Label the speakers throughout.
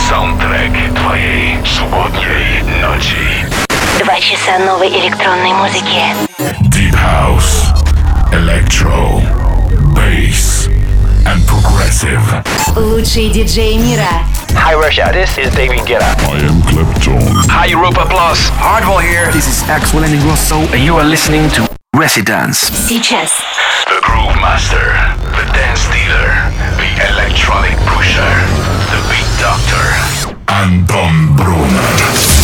Speaker 1: Саундтрек твоей субботней ночи.
Speaker 2: 2 часа новой электронной музыки.
Speaker 1: Deep House, Electro, Bass and Progressive.
Speaker 2: Лучшие диджеи мира.
Speaker 3: Hi Russia, this is David Guetta.
Speaker 1: I am Clapton.
Speaker 3: Hi Europa Plus. Hardwell here. This is Axel Ingrosso and you are listening to Residence.
Speaker 2: Сейчас.
Speaker 1: The Groove Master, the Dance Dealer, the Electronic Pusher, the Beat Doctor. Антон Брунер.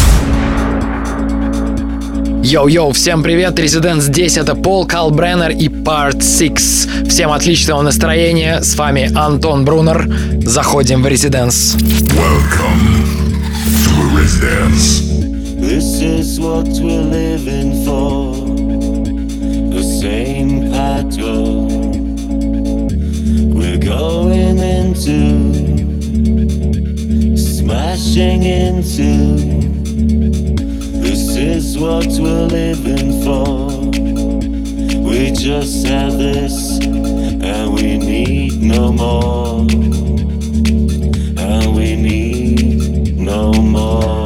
Speaker 4: Йоу-йоу, всем привет, Residence здесь, это Пол Калбреннер и Part 6. Всем отличного настроения, с вами Антон Брунер, заходим в Residence.
Speaker 1: Welcome to Residence.
Speaker 5: This is what we're living for, the same pattern we're going into, smashing into. This is what we're living for. We just have this, and we need no more. And we need no more.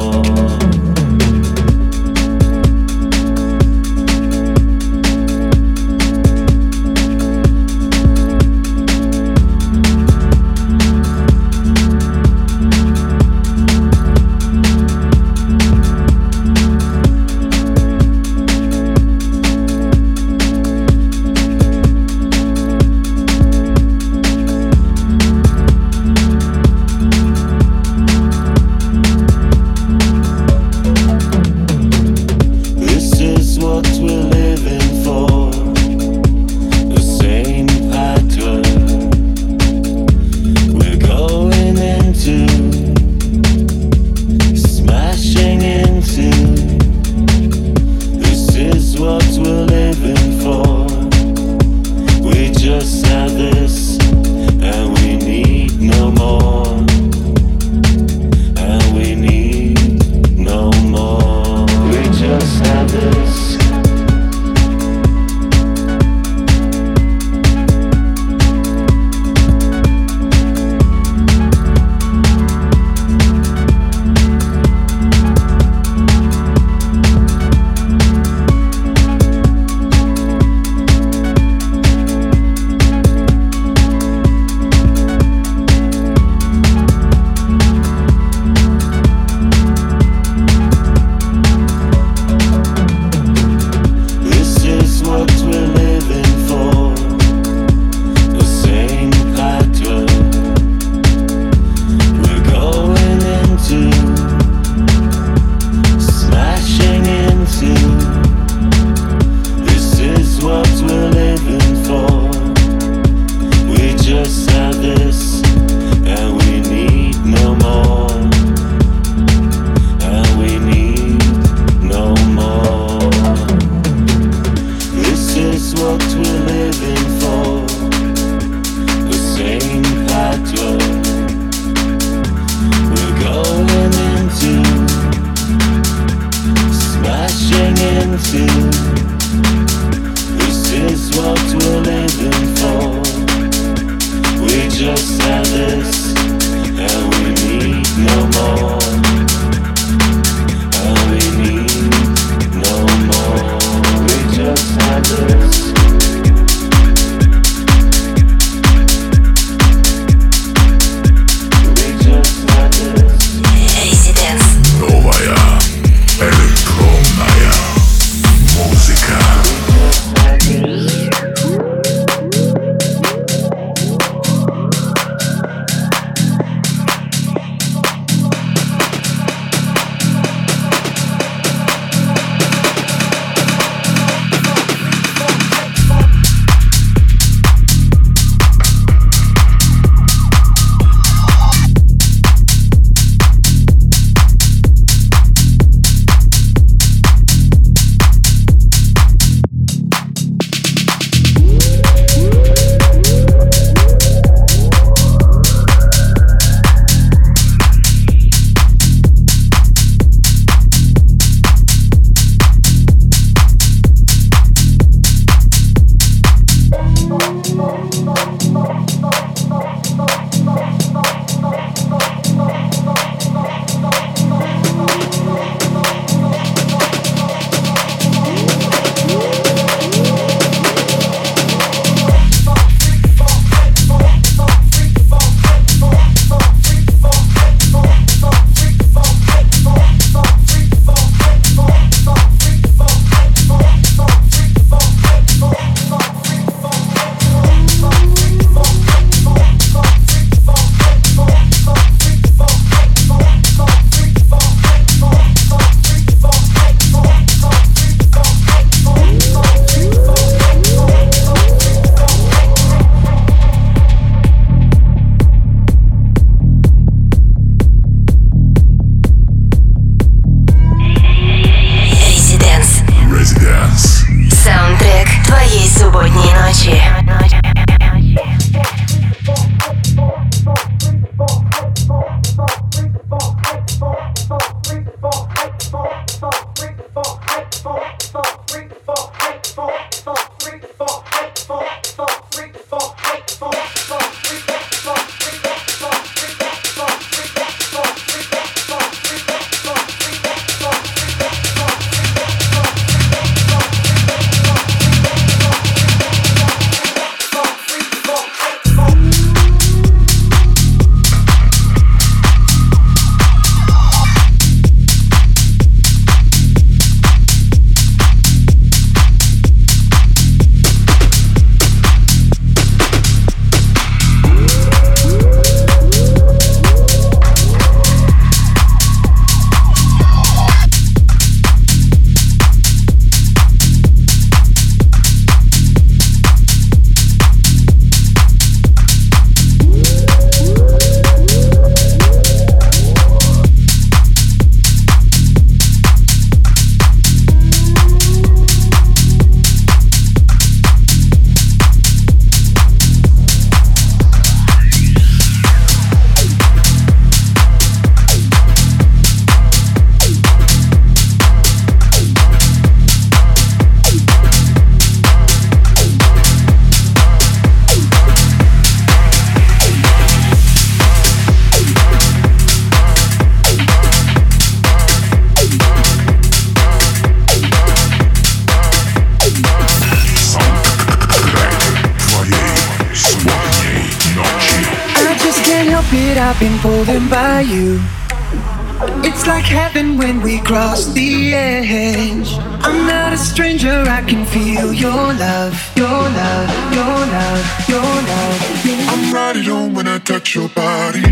Speaker 6: help it, I've been pulled in by you. It's like heaven when we cross the edge. I'm not a stranger, I can feel your love, your love, your love, your love.
Speaker 1: I'm right on when I touch your body.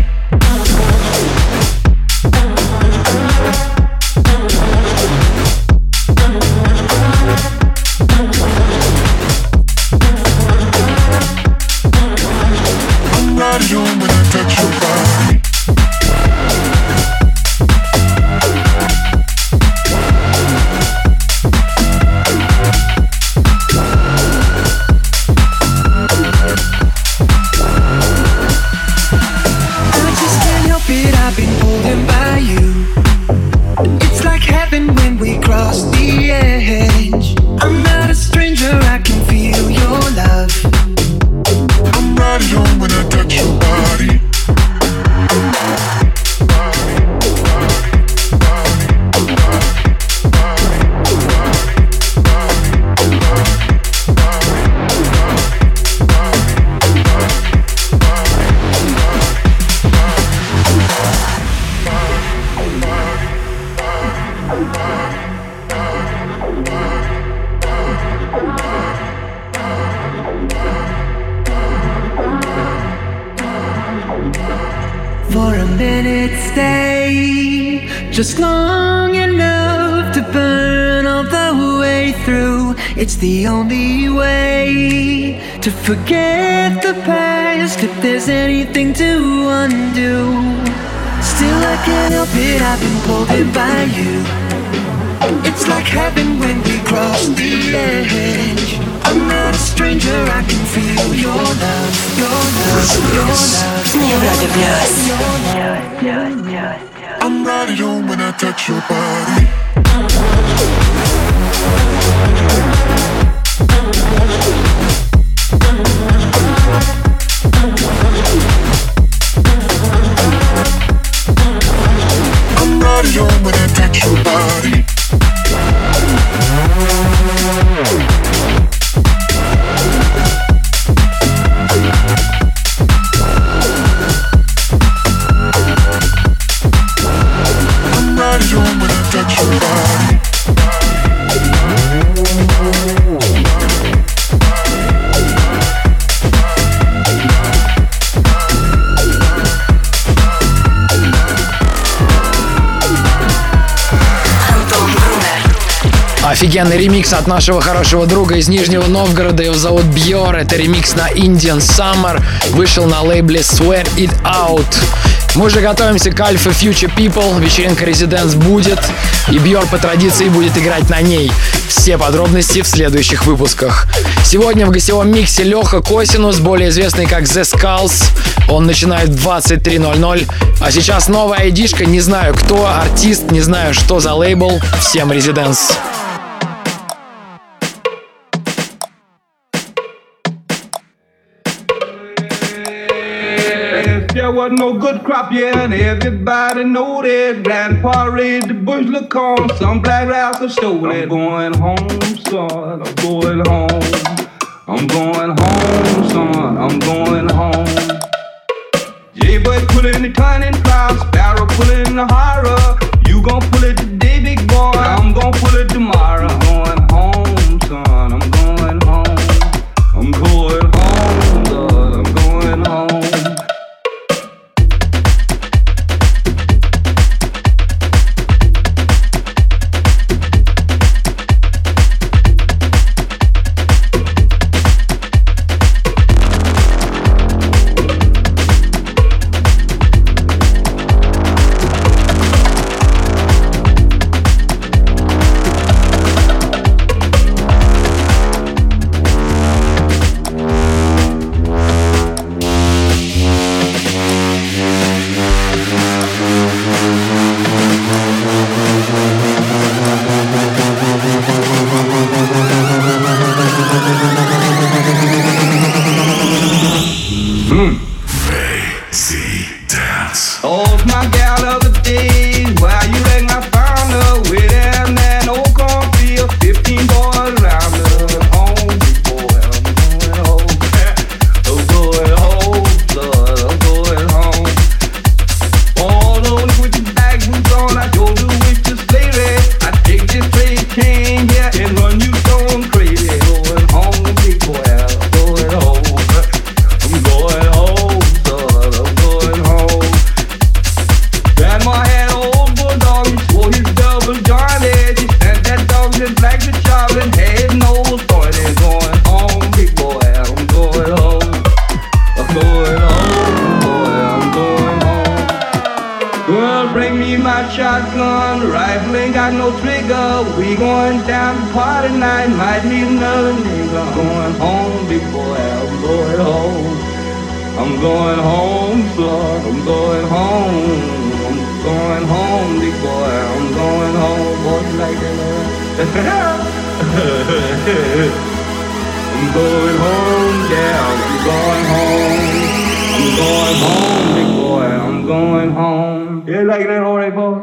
Speaker 1: I'm right on when I touch your body.
Speaker 6: I've been pulled in by you. It's like heaven when we cross the edge. I'm not a stranger, I can feel your love.
Speaker 1: I'm right on when I touch your body.
Speaker 6: For a minute stay, just long enough to burn all the way through. It's the only way to forget the past if there's anything to undo. Still I can't help it, I've been pulled in by you. It's like heaven when we cross the edge. I'm not a stranger, I can feel your love, your love, your love.
Speaker 1: I'm right on when I touch your body. I'm right on when I touch your body.
Speaker 4: Офигенный ремикс от нашего хорошего друга из Нижнего Новгорода. Его зовут Бьор. Это ремикс на Indian Summer. Вышел на лейбле Swear It Out. Мы уже готовимся к Alpha Future People. Вечеринка Residence будет. И Бьор по традиции будет играть на ней. Все подробности в следующих выпусках. Сегодня в гостевом миксе Леха Косинус, более известный как The Skulls. Он начинает в 23:00. А сейчас новая айдишка. Не знаю, кто артист, не знаю, что за лейбл. Всем Residence.
Speaker 7: There was no good crop, yeah, and everybody know that. Grandpa raised the bush, look on, some black rascal stole it. I'm going home, son, I'm going home. I'm going home, son, I'm going home. J-Boy pulling the cunning cloud, Sparrow pulling the horror. You gon' pull it today, big boy, I'm gon' pull it tomorrow. I'm going home, son, I'm going home. I'm going home, son, I'm going home. got shotgun, rifle ain't got no trigger. We going down to party night, might meet another nigga. I'm going home, big boy, I'm going home. I'm going home, son, I'm going home. I'm going home, big boy, I'm going home. Boy, you like that? I'm going home, yeah, I'm going home. I'm going home, big boy, I'm going home. You like that, alright, boy?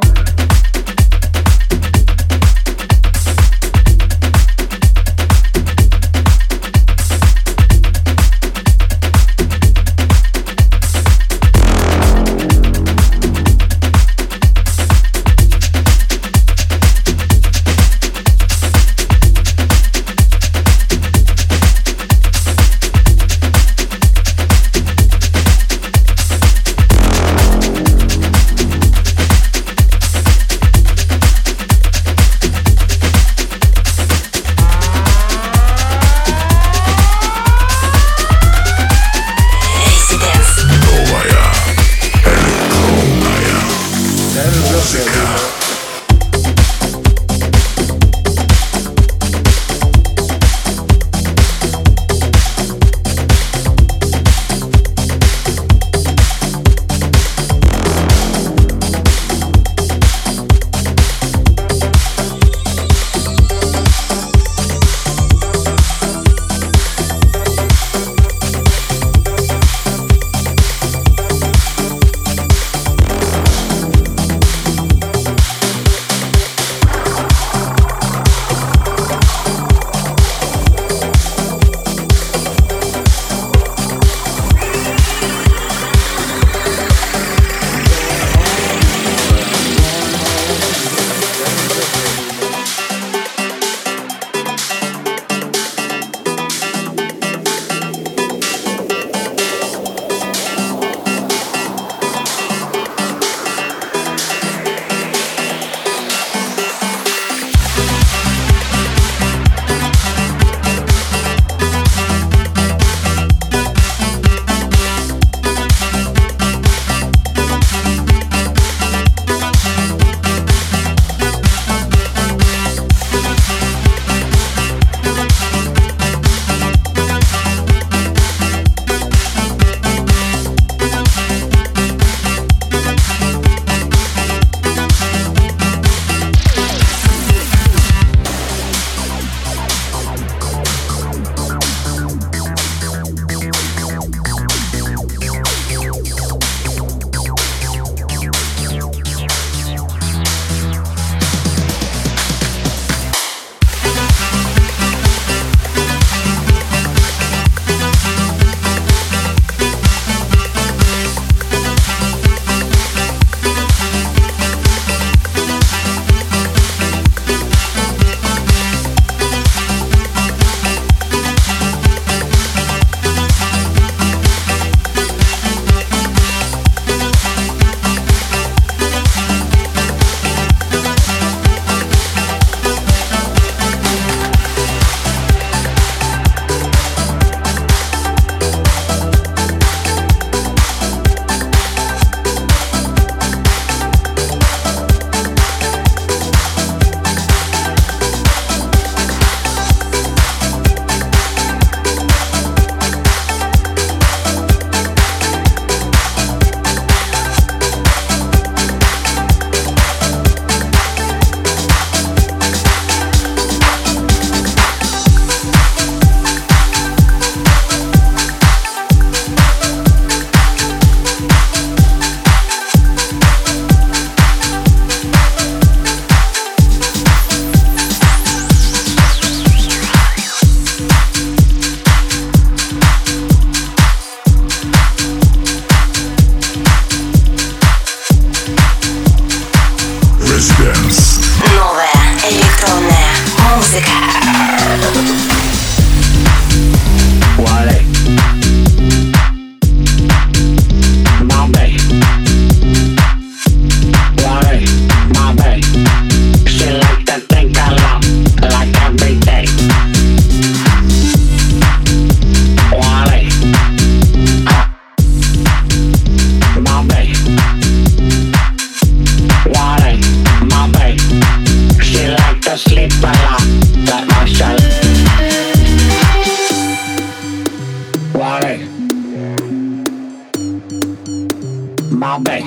Speaker 8: my bae.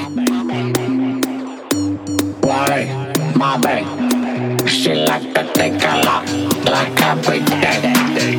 Speaker 8: Wale, my bae. She like to take a lot, like every day.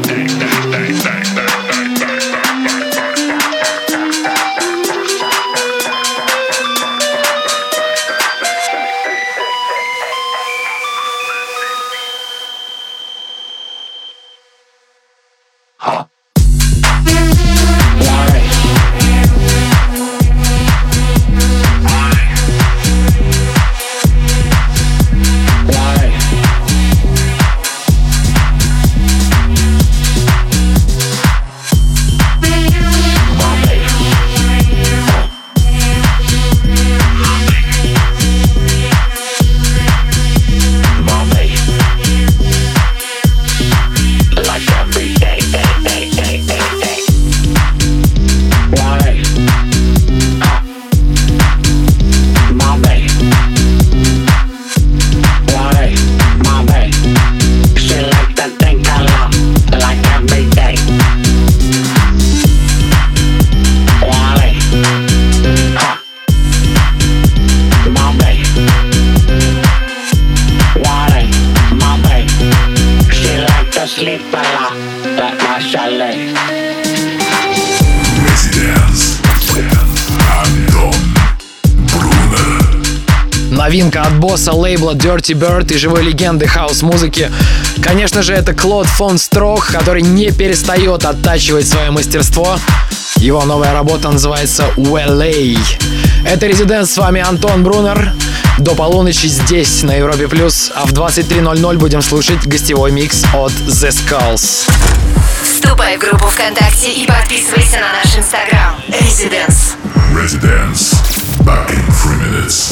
Speaker 4: Новинка от босса лейбла Dirty Bird и живой легенды хаус-музыки. Конечно же, это Клод фон Строх, который не перестает оттачивать свое мастерство. Его новая работа называется Well. Это Резиденс, с вами Антон Брунер. До полуночи здесь, на Европе+, а в 23:00 будем слушать гостевой микс от The Skulls.
Speaker 2: Вступай в группу ВКонтакте и подписывайся на наш Инстаграм. Резиденс.
Speaker 1: Residence. Back in 3 minutes.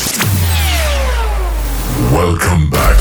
Speaker 1: Welcome back.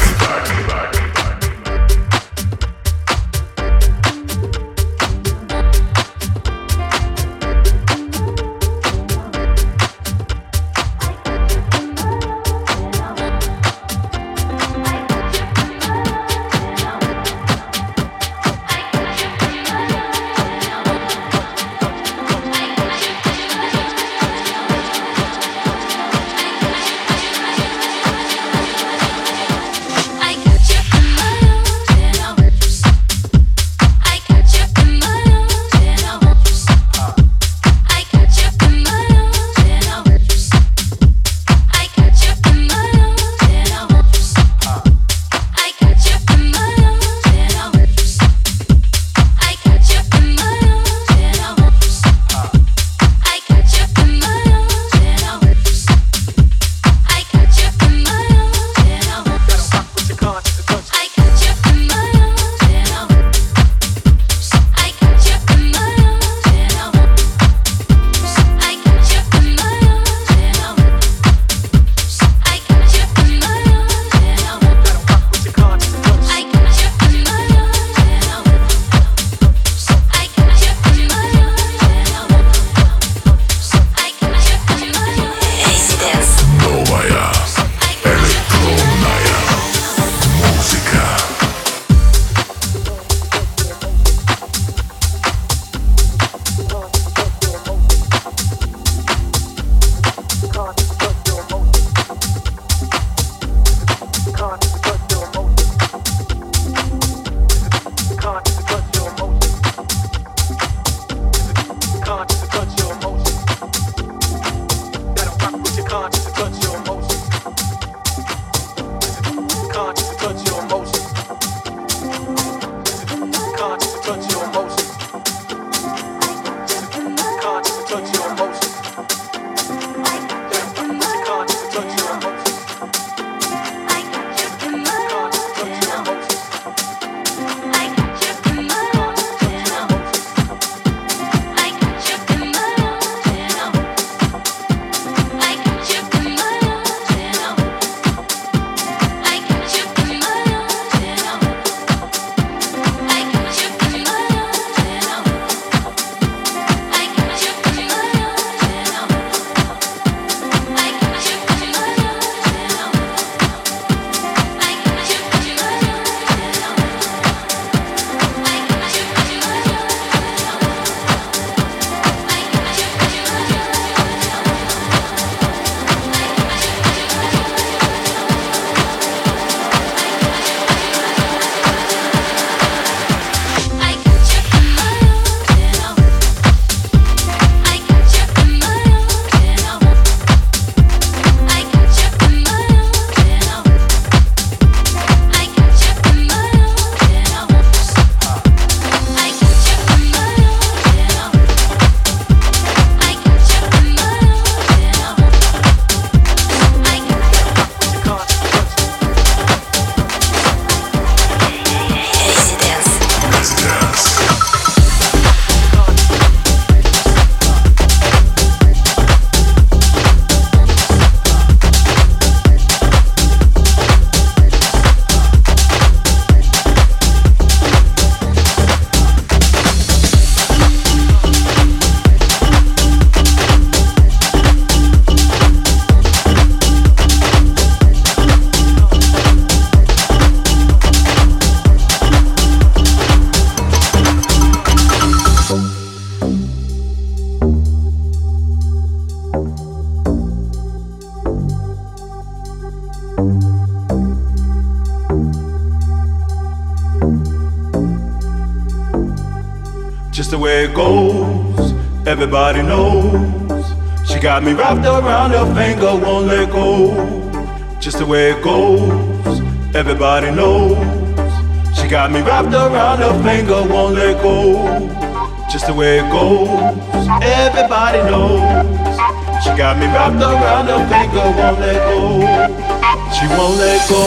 Speaker 5: the way it goes. Everybody knows. She got me wrapped around her finger, won't let go. Just the way it goes. Everybody knows. She got me wrapped around her finger, won't let go. Just the way it goes. Everybody knows. She got me wrapped around her finger, won't let go. She won't let go.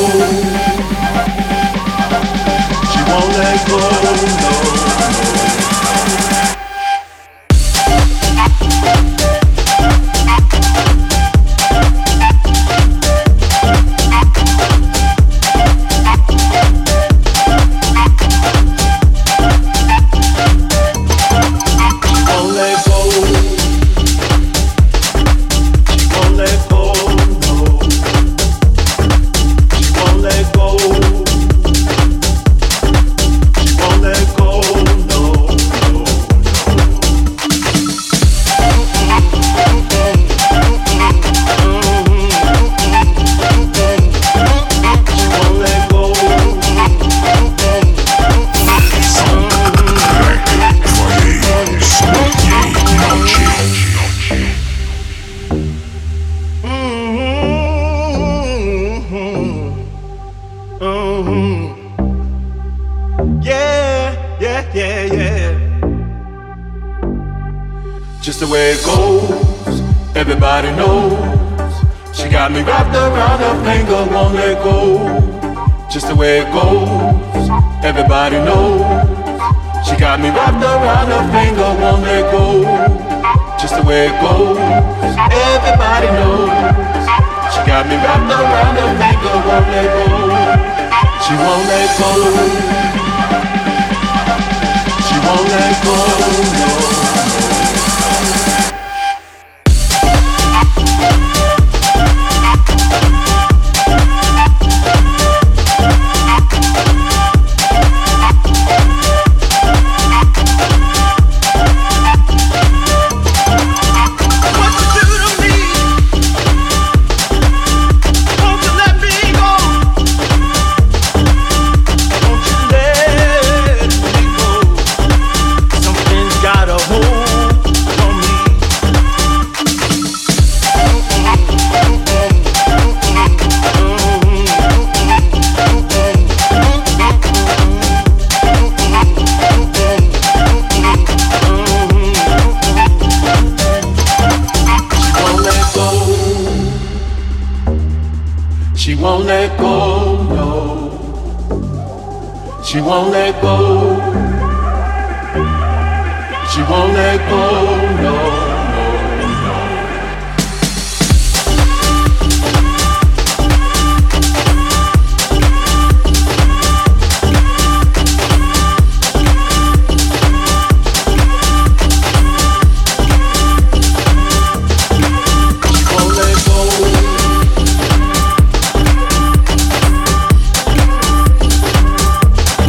Speaker 5: She won't let go, no. Just the way it goes, everybody knows. She got me wrapped around her finger, won't let go. Just the way it goes, everybody knows. She got me wrapped around her finger, won't let go. Just the way it goes, everybody knows. She got me wrapped around her finger, won't let go. She won't let go. She won't let go, no. She won't let go, no. She won't let go. She won't let go, no, no, no.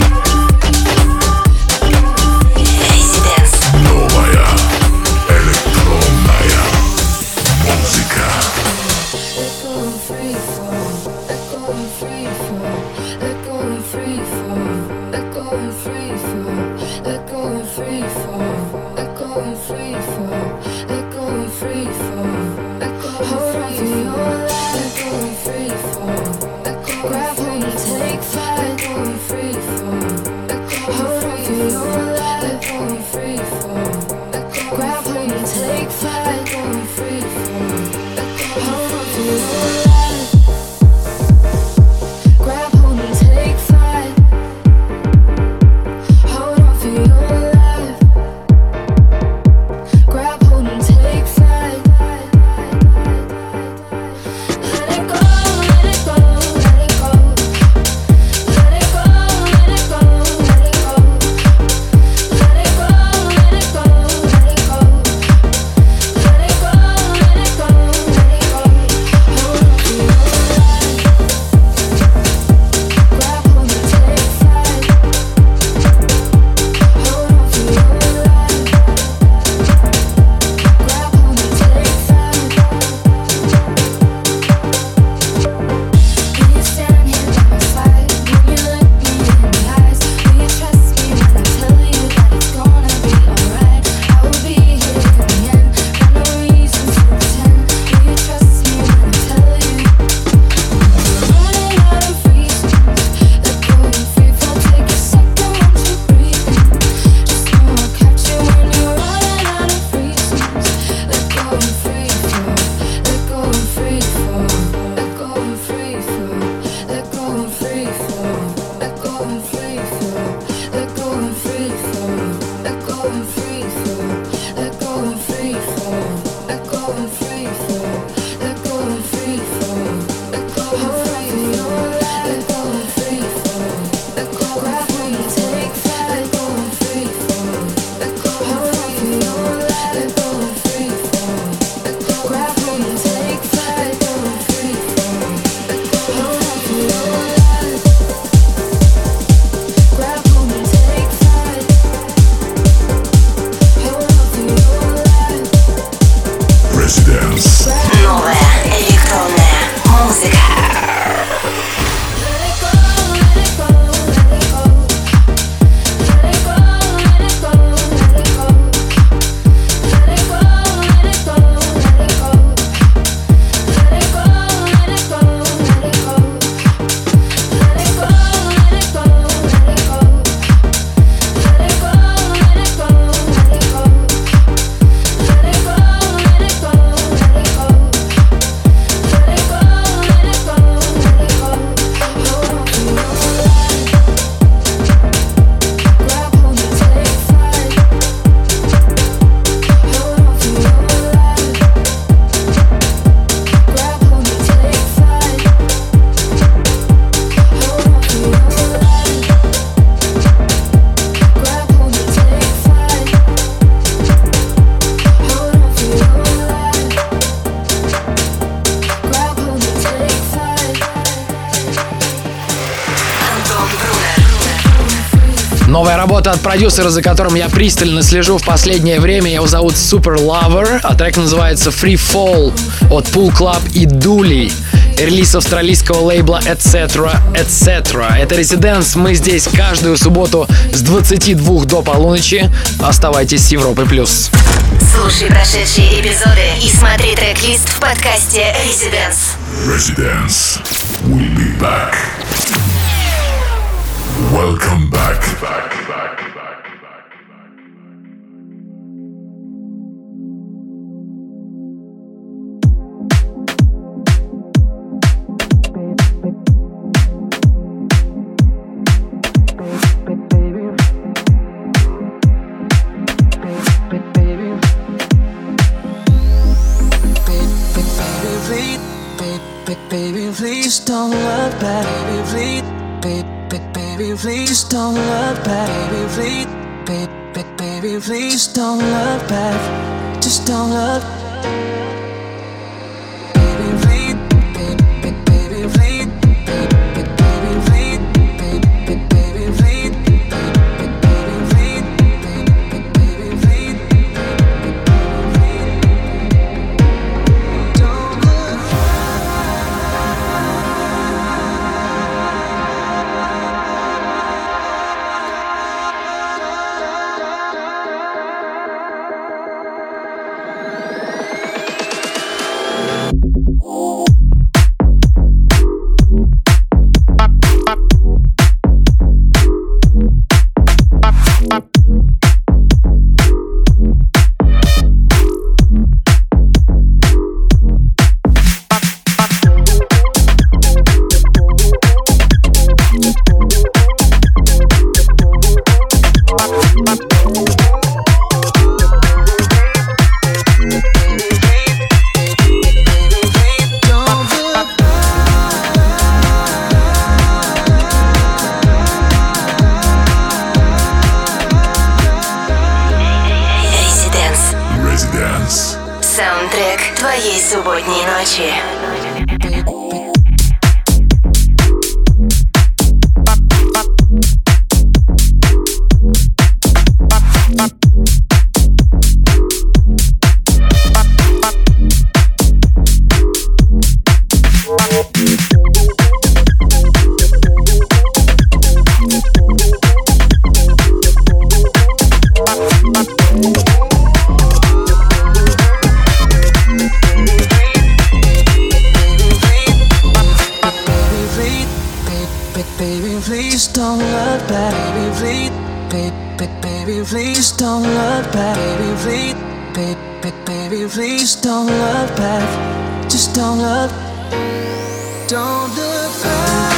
Speaker 1: Новая Residence.
Speaker 2: Новая электронная музыка.
Speaker 4: Новая работа от продюсера, за которым я пристально слежу в последнее время. Его зовут Super Lover, а трек называется Free Fall от Pool Club и Dooley. Релиз австралийского лейбла Etc. Это Residence. Мы здесь каждую субботу с 22 до полуночи. Оставайтесь с Европой+.
Speaker 2: Слушай прошедшие эпизоды и смотри трек-лист в подкасте Residence.
Speaker 1: Residence. We'll be back. Welcome back.
Speaker 6: Baby, please don't look back. Baby, please don't look back. Baby, please don't look back. Just don't look.
Speaker 2: Саундтрек твоей субботней ночи. Please don't look back, baby, please don't look back, baby, please don't look back, just don't look back.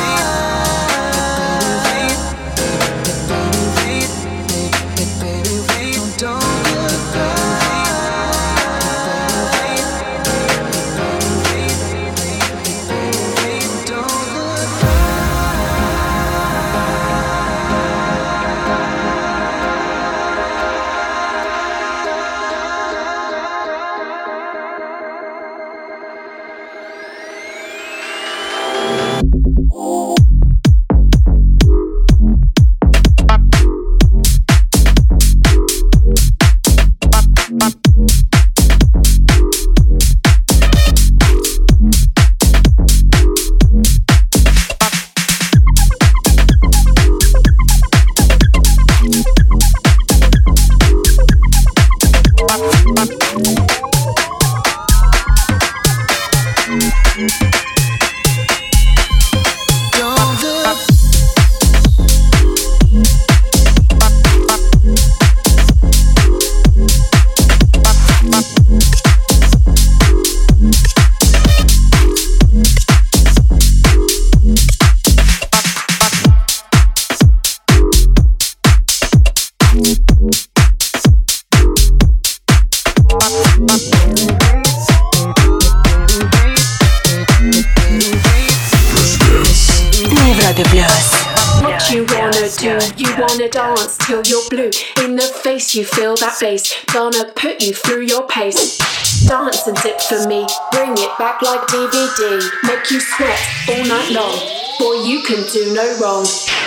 Speaker 9: Dance till you're blue in the face, you feel that bass, gonna put you through your pace. Dance and dip for me, bring it back like DVD, make you sweat all night long, boy you can do no wrong.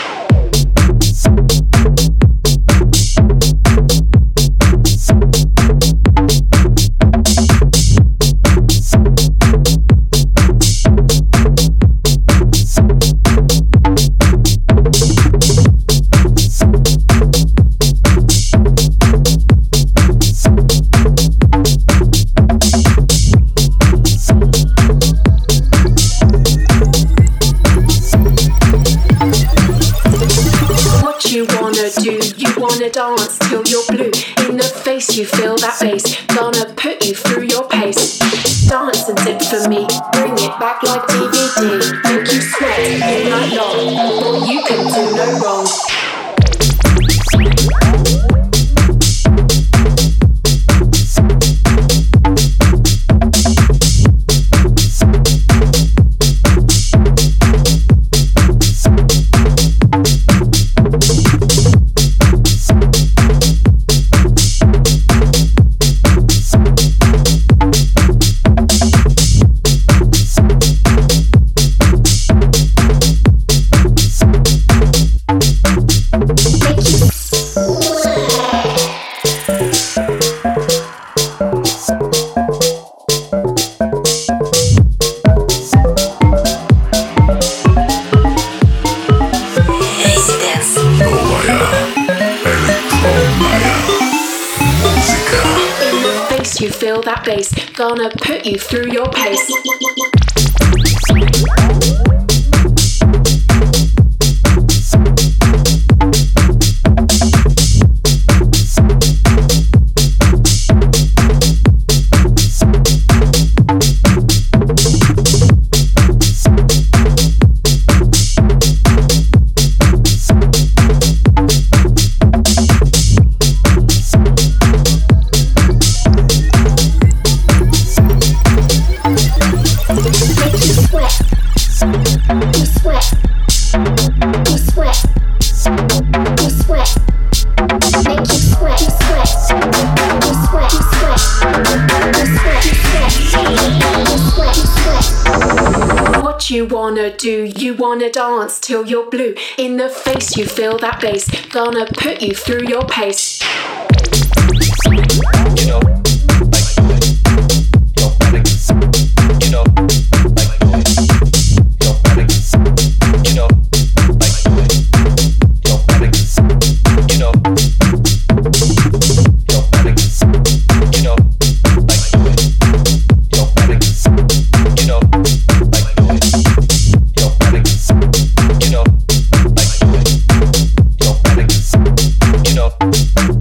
Speaker 9: Dance till you're blue in the face, you feel that bass, gonna put you through your pace. Dance and dip for me, bring it back like DVD, make you sweat all night long, boy you can do no wrong. You feel that bass, gonna put you through your pace. You wanna do, you wanna dance till you're blue in the face, you feel that bass, gonna put you through your pace. You know, like do it, your panic. You know, like do it, your panic. You know, like do it, your panic. You know, your panic. You know, like do it, your panic. You know, like do it. Your panic, you know, like do it. Your panic, you know.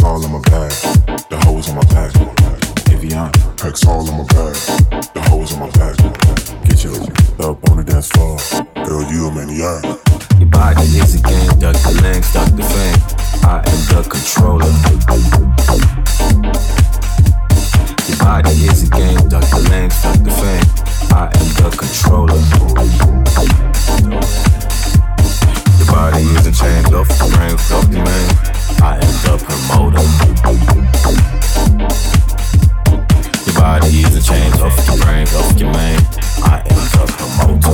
Speaker 5: all in my bag, the hoes in my pack. Evian, perks all in my bag, the hoes in my pack. Get yours up on the dance floor, girl, you a maniac.
Speaker 10: Your body is a game, duck the length, duck the fame. I am the controller. Your body is a game, duck the length, duck the fame. I am the controller. Your body is a chain, off the brain, off the main. I am the promoter. Your body is a chain, off your brain, off your main. I am the promoter.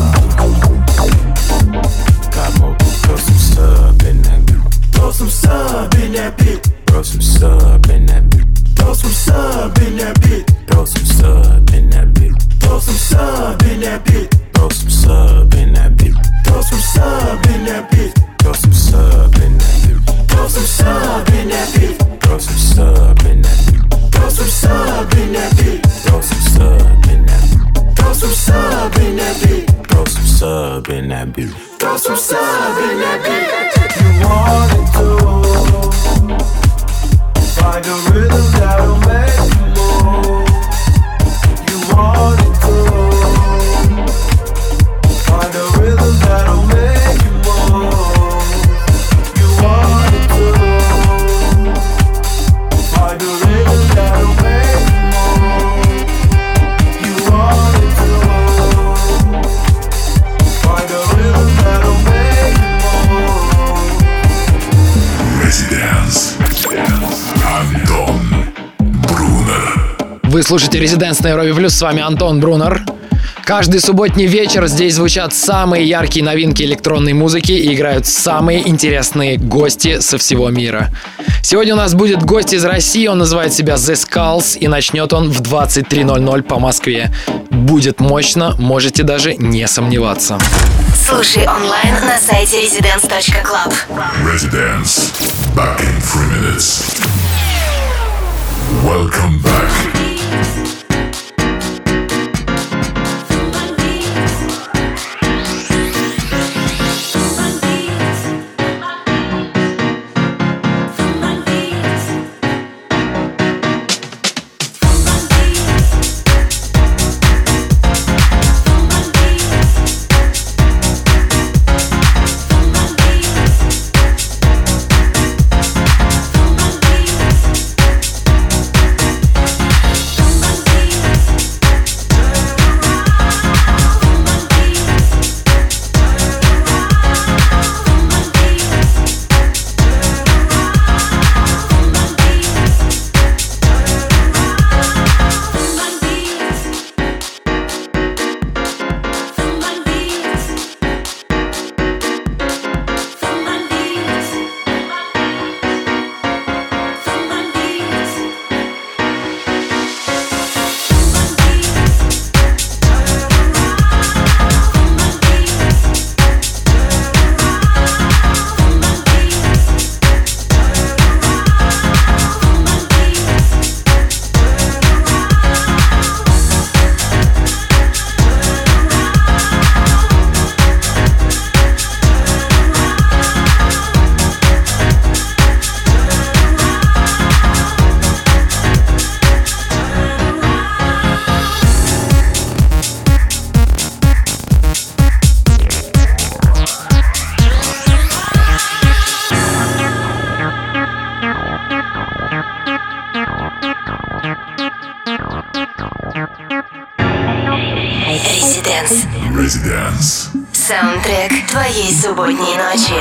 Speaker 10: Got more, throw some sub in that beat. Throw some sub in that beat. Throw some sub in that beat. Throw some sub in that beat. Throw some sub in that beat. Throw some sub in that beat. Throw some sub in that beat. Throw some sub in that beat. Throw some sub in that beat. Throw some sub in that beat. Throw some sub in that beat. Throw some sub in that beat. Throw some sub in that beat. Throw some sub in that beat. Throw some sub in that beat. Throw some sub in that beat. You want it to find a rhythm that'll make you move. You want it to find a rhythm that'll make you move. You want it to find a rhythm that'll make you move. You want it to find a rhythm that'll make you move.
Speaker 1: Residence. Антон Брунер.
Speaker 4: Вы слушаете Residence на Европе Плюс, с вами Антон Брунер. Каждый субботний вечер здесь звучат самые яркие новинки электронной музыки и играют самые интересные гости со всего мира. Сегодня у нас будет гость из России, он называет себя The Skulls, и начнет он в 23:00 по Москве. Будет мощно, можете даже не сомневаться.
Speaker 11: Слушай онлайн на сайте residence.club.
Speaker 1: Residence. Back in 3 minutes. Welcome back. Residence.
Speaker 11: Саундтрек твоей субботней ночи.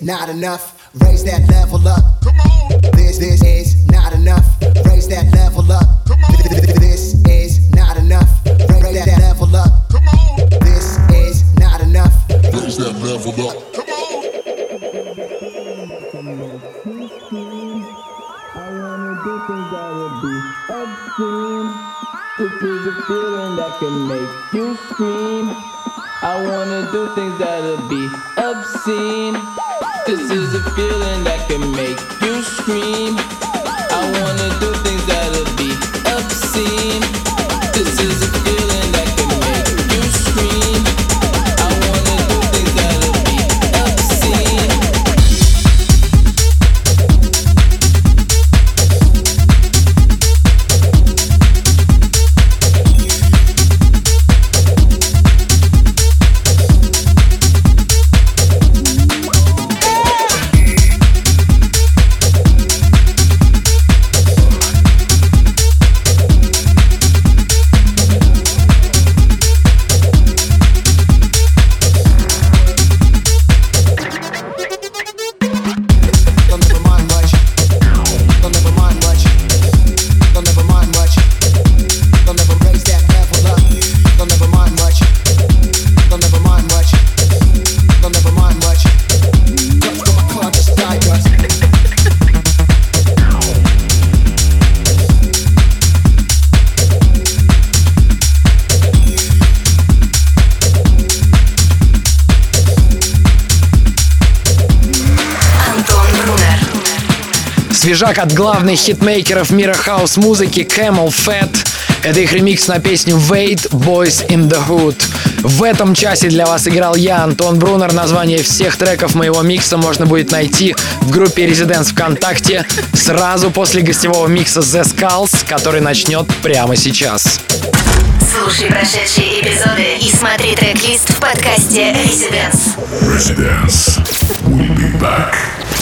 Speaker 12: not enough. Raise that level up. Come on. This is not enough. Raise that level up. Come on. This is not enough. Raise that level up. Come on. This is not enough. Raise that level up. Come on.
Speaker 13: I wanna do things that would be obscene. This is a feeling that can make you scream. I wanna do things that'll be obscene. This is a feeling that can make you scream. I wanna do things that'll be obscene. This is a feeling that can make you scream. I wanna do things that'll be obscene.
Speaker 4: Свежак от главных хитмейкеров мира хаус-музыки Camel Fat. Это их ремикс на песню Wait, Boys in the Hood. В этом часе для вас играл я, Антон Брунер. Название всех треков моего микса можно будет найти в группе Residence ВКонтакте сразу после гостевого микса The Skulls, который начнет прямо сейчас.
Speaker 11: Слушай прошедшие эпизоды и смотри трек-лист в подкасте Residence.
Speaker 1: Residence. We'll be back.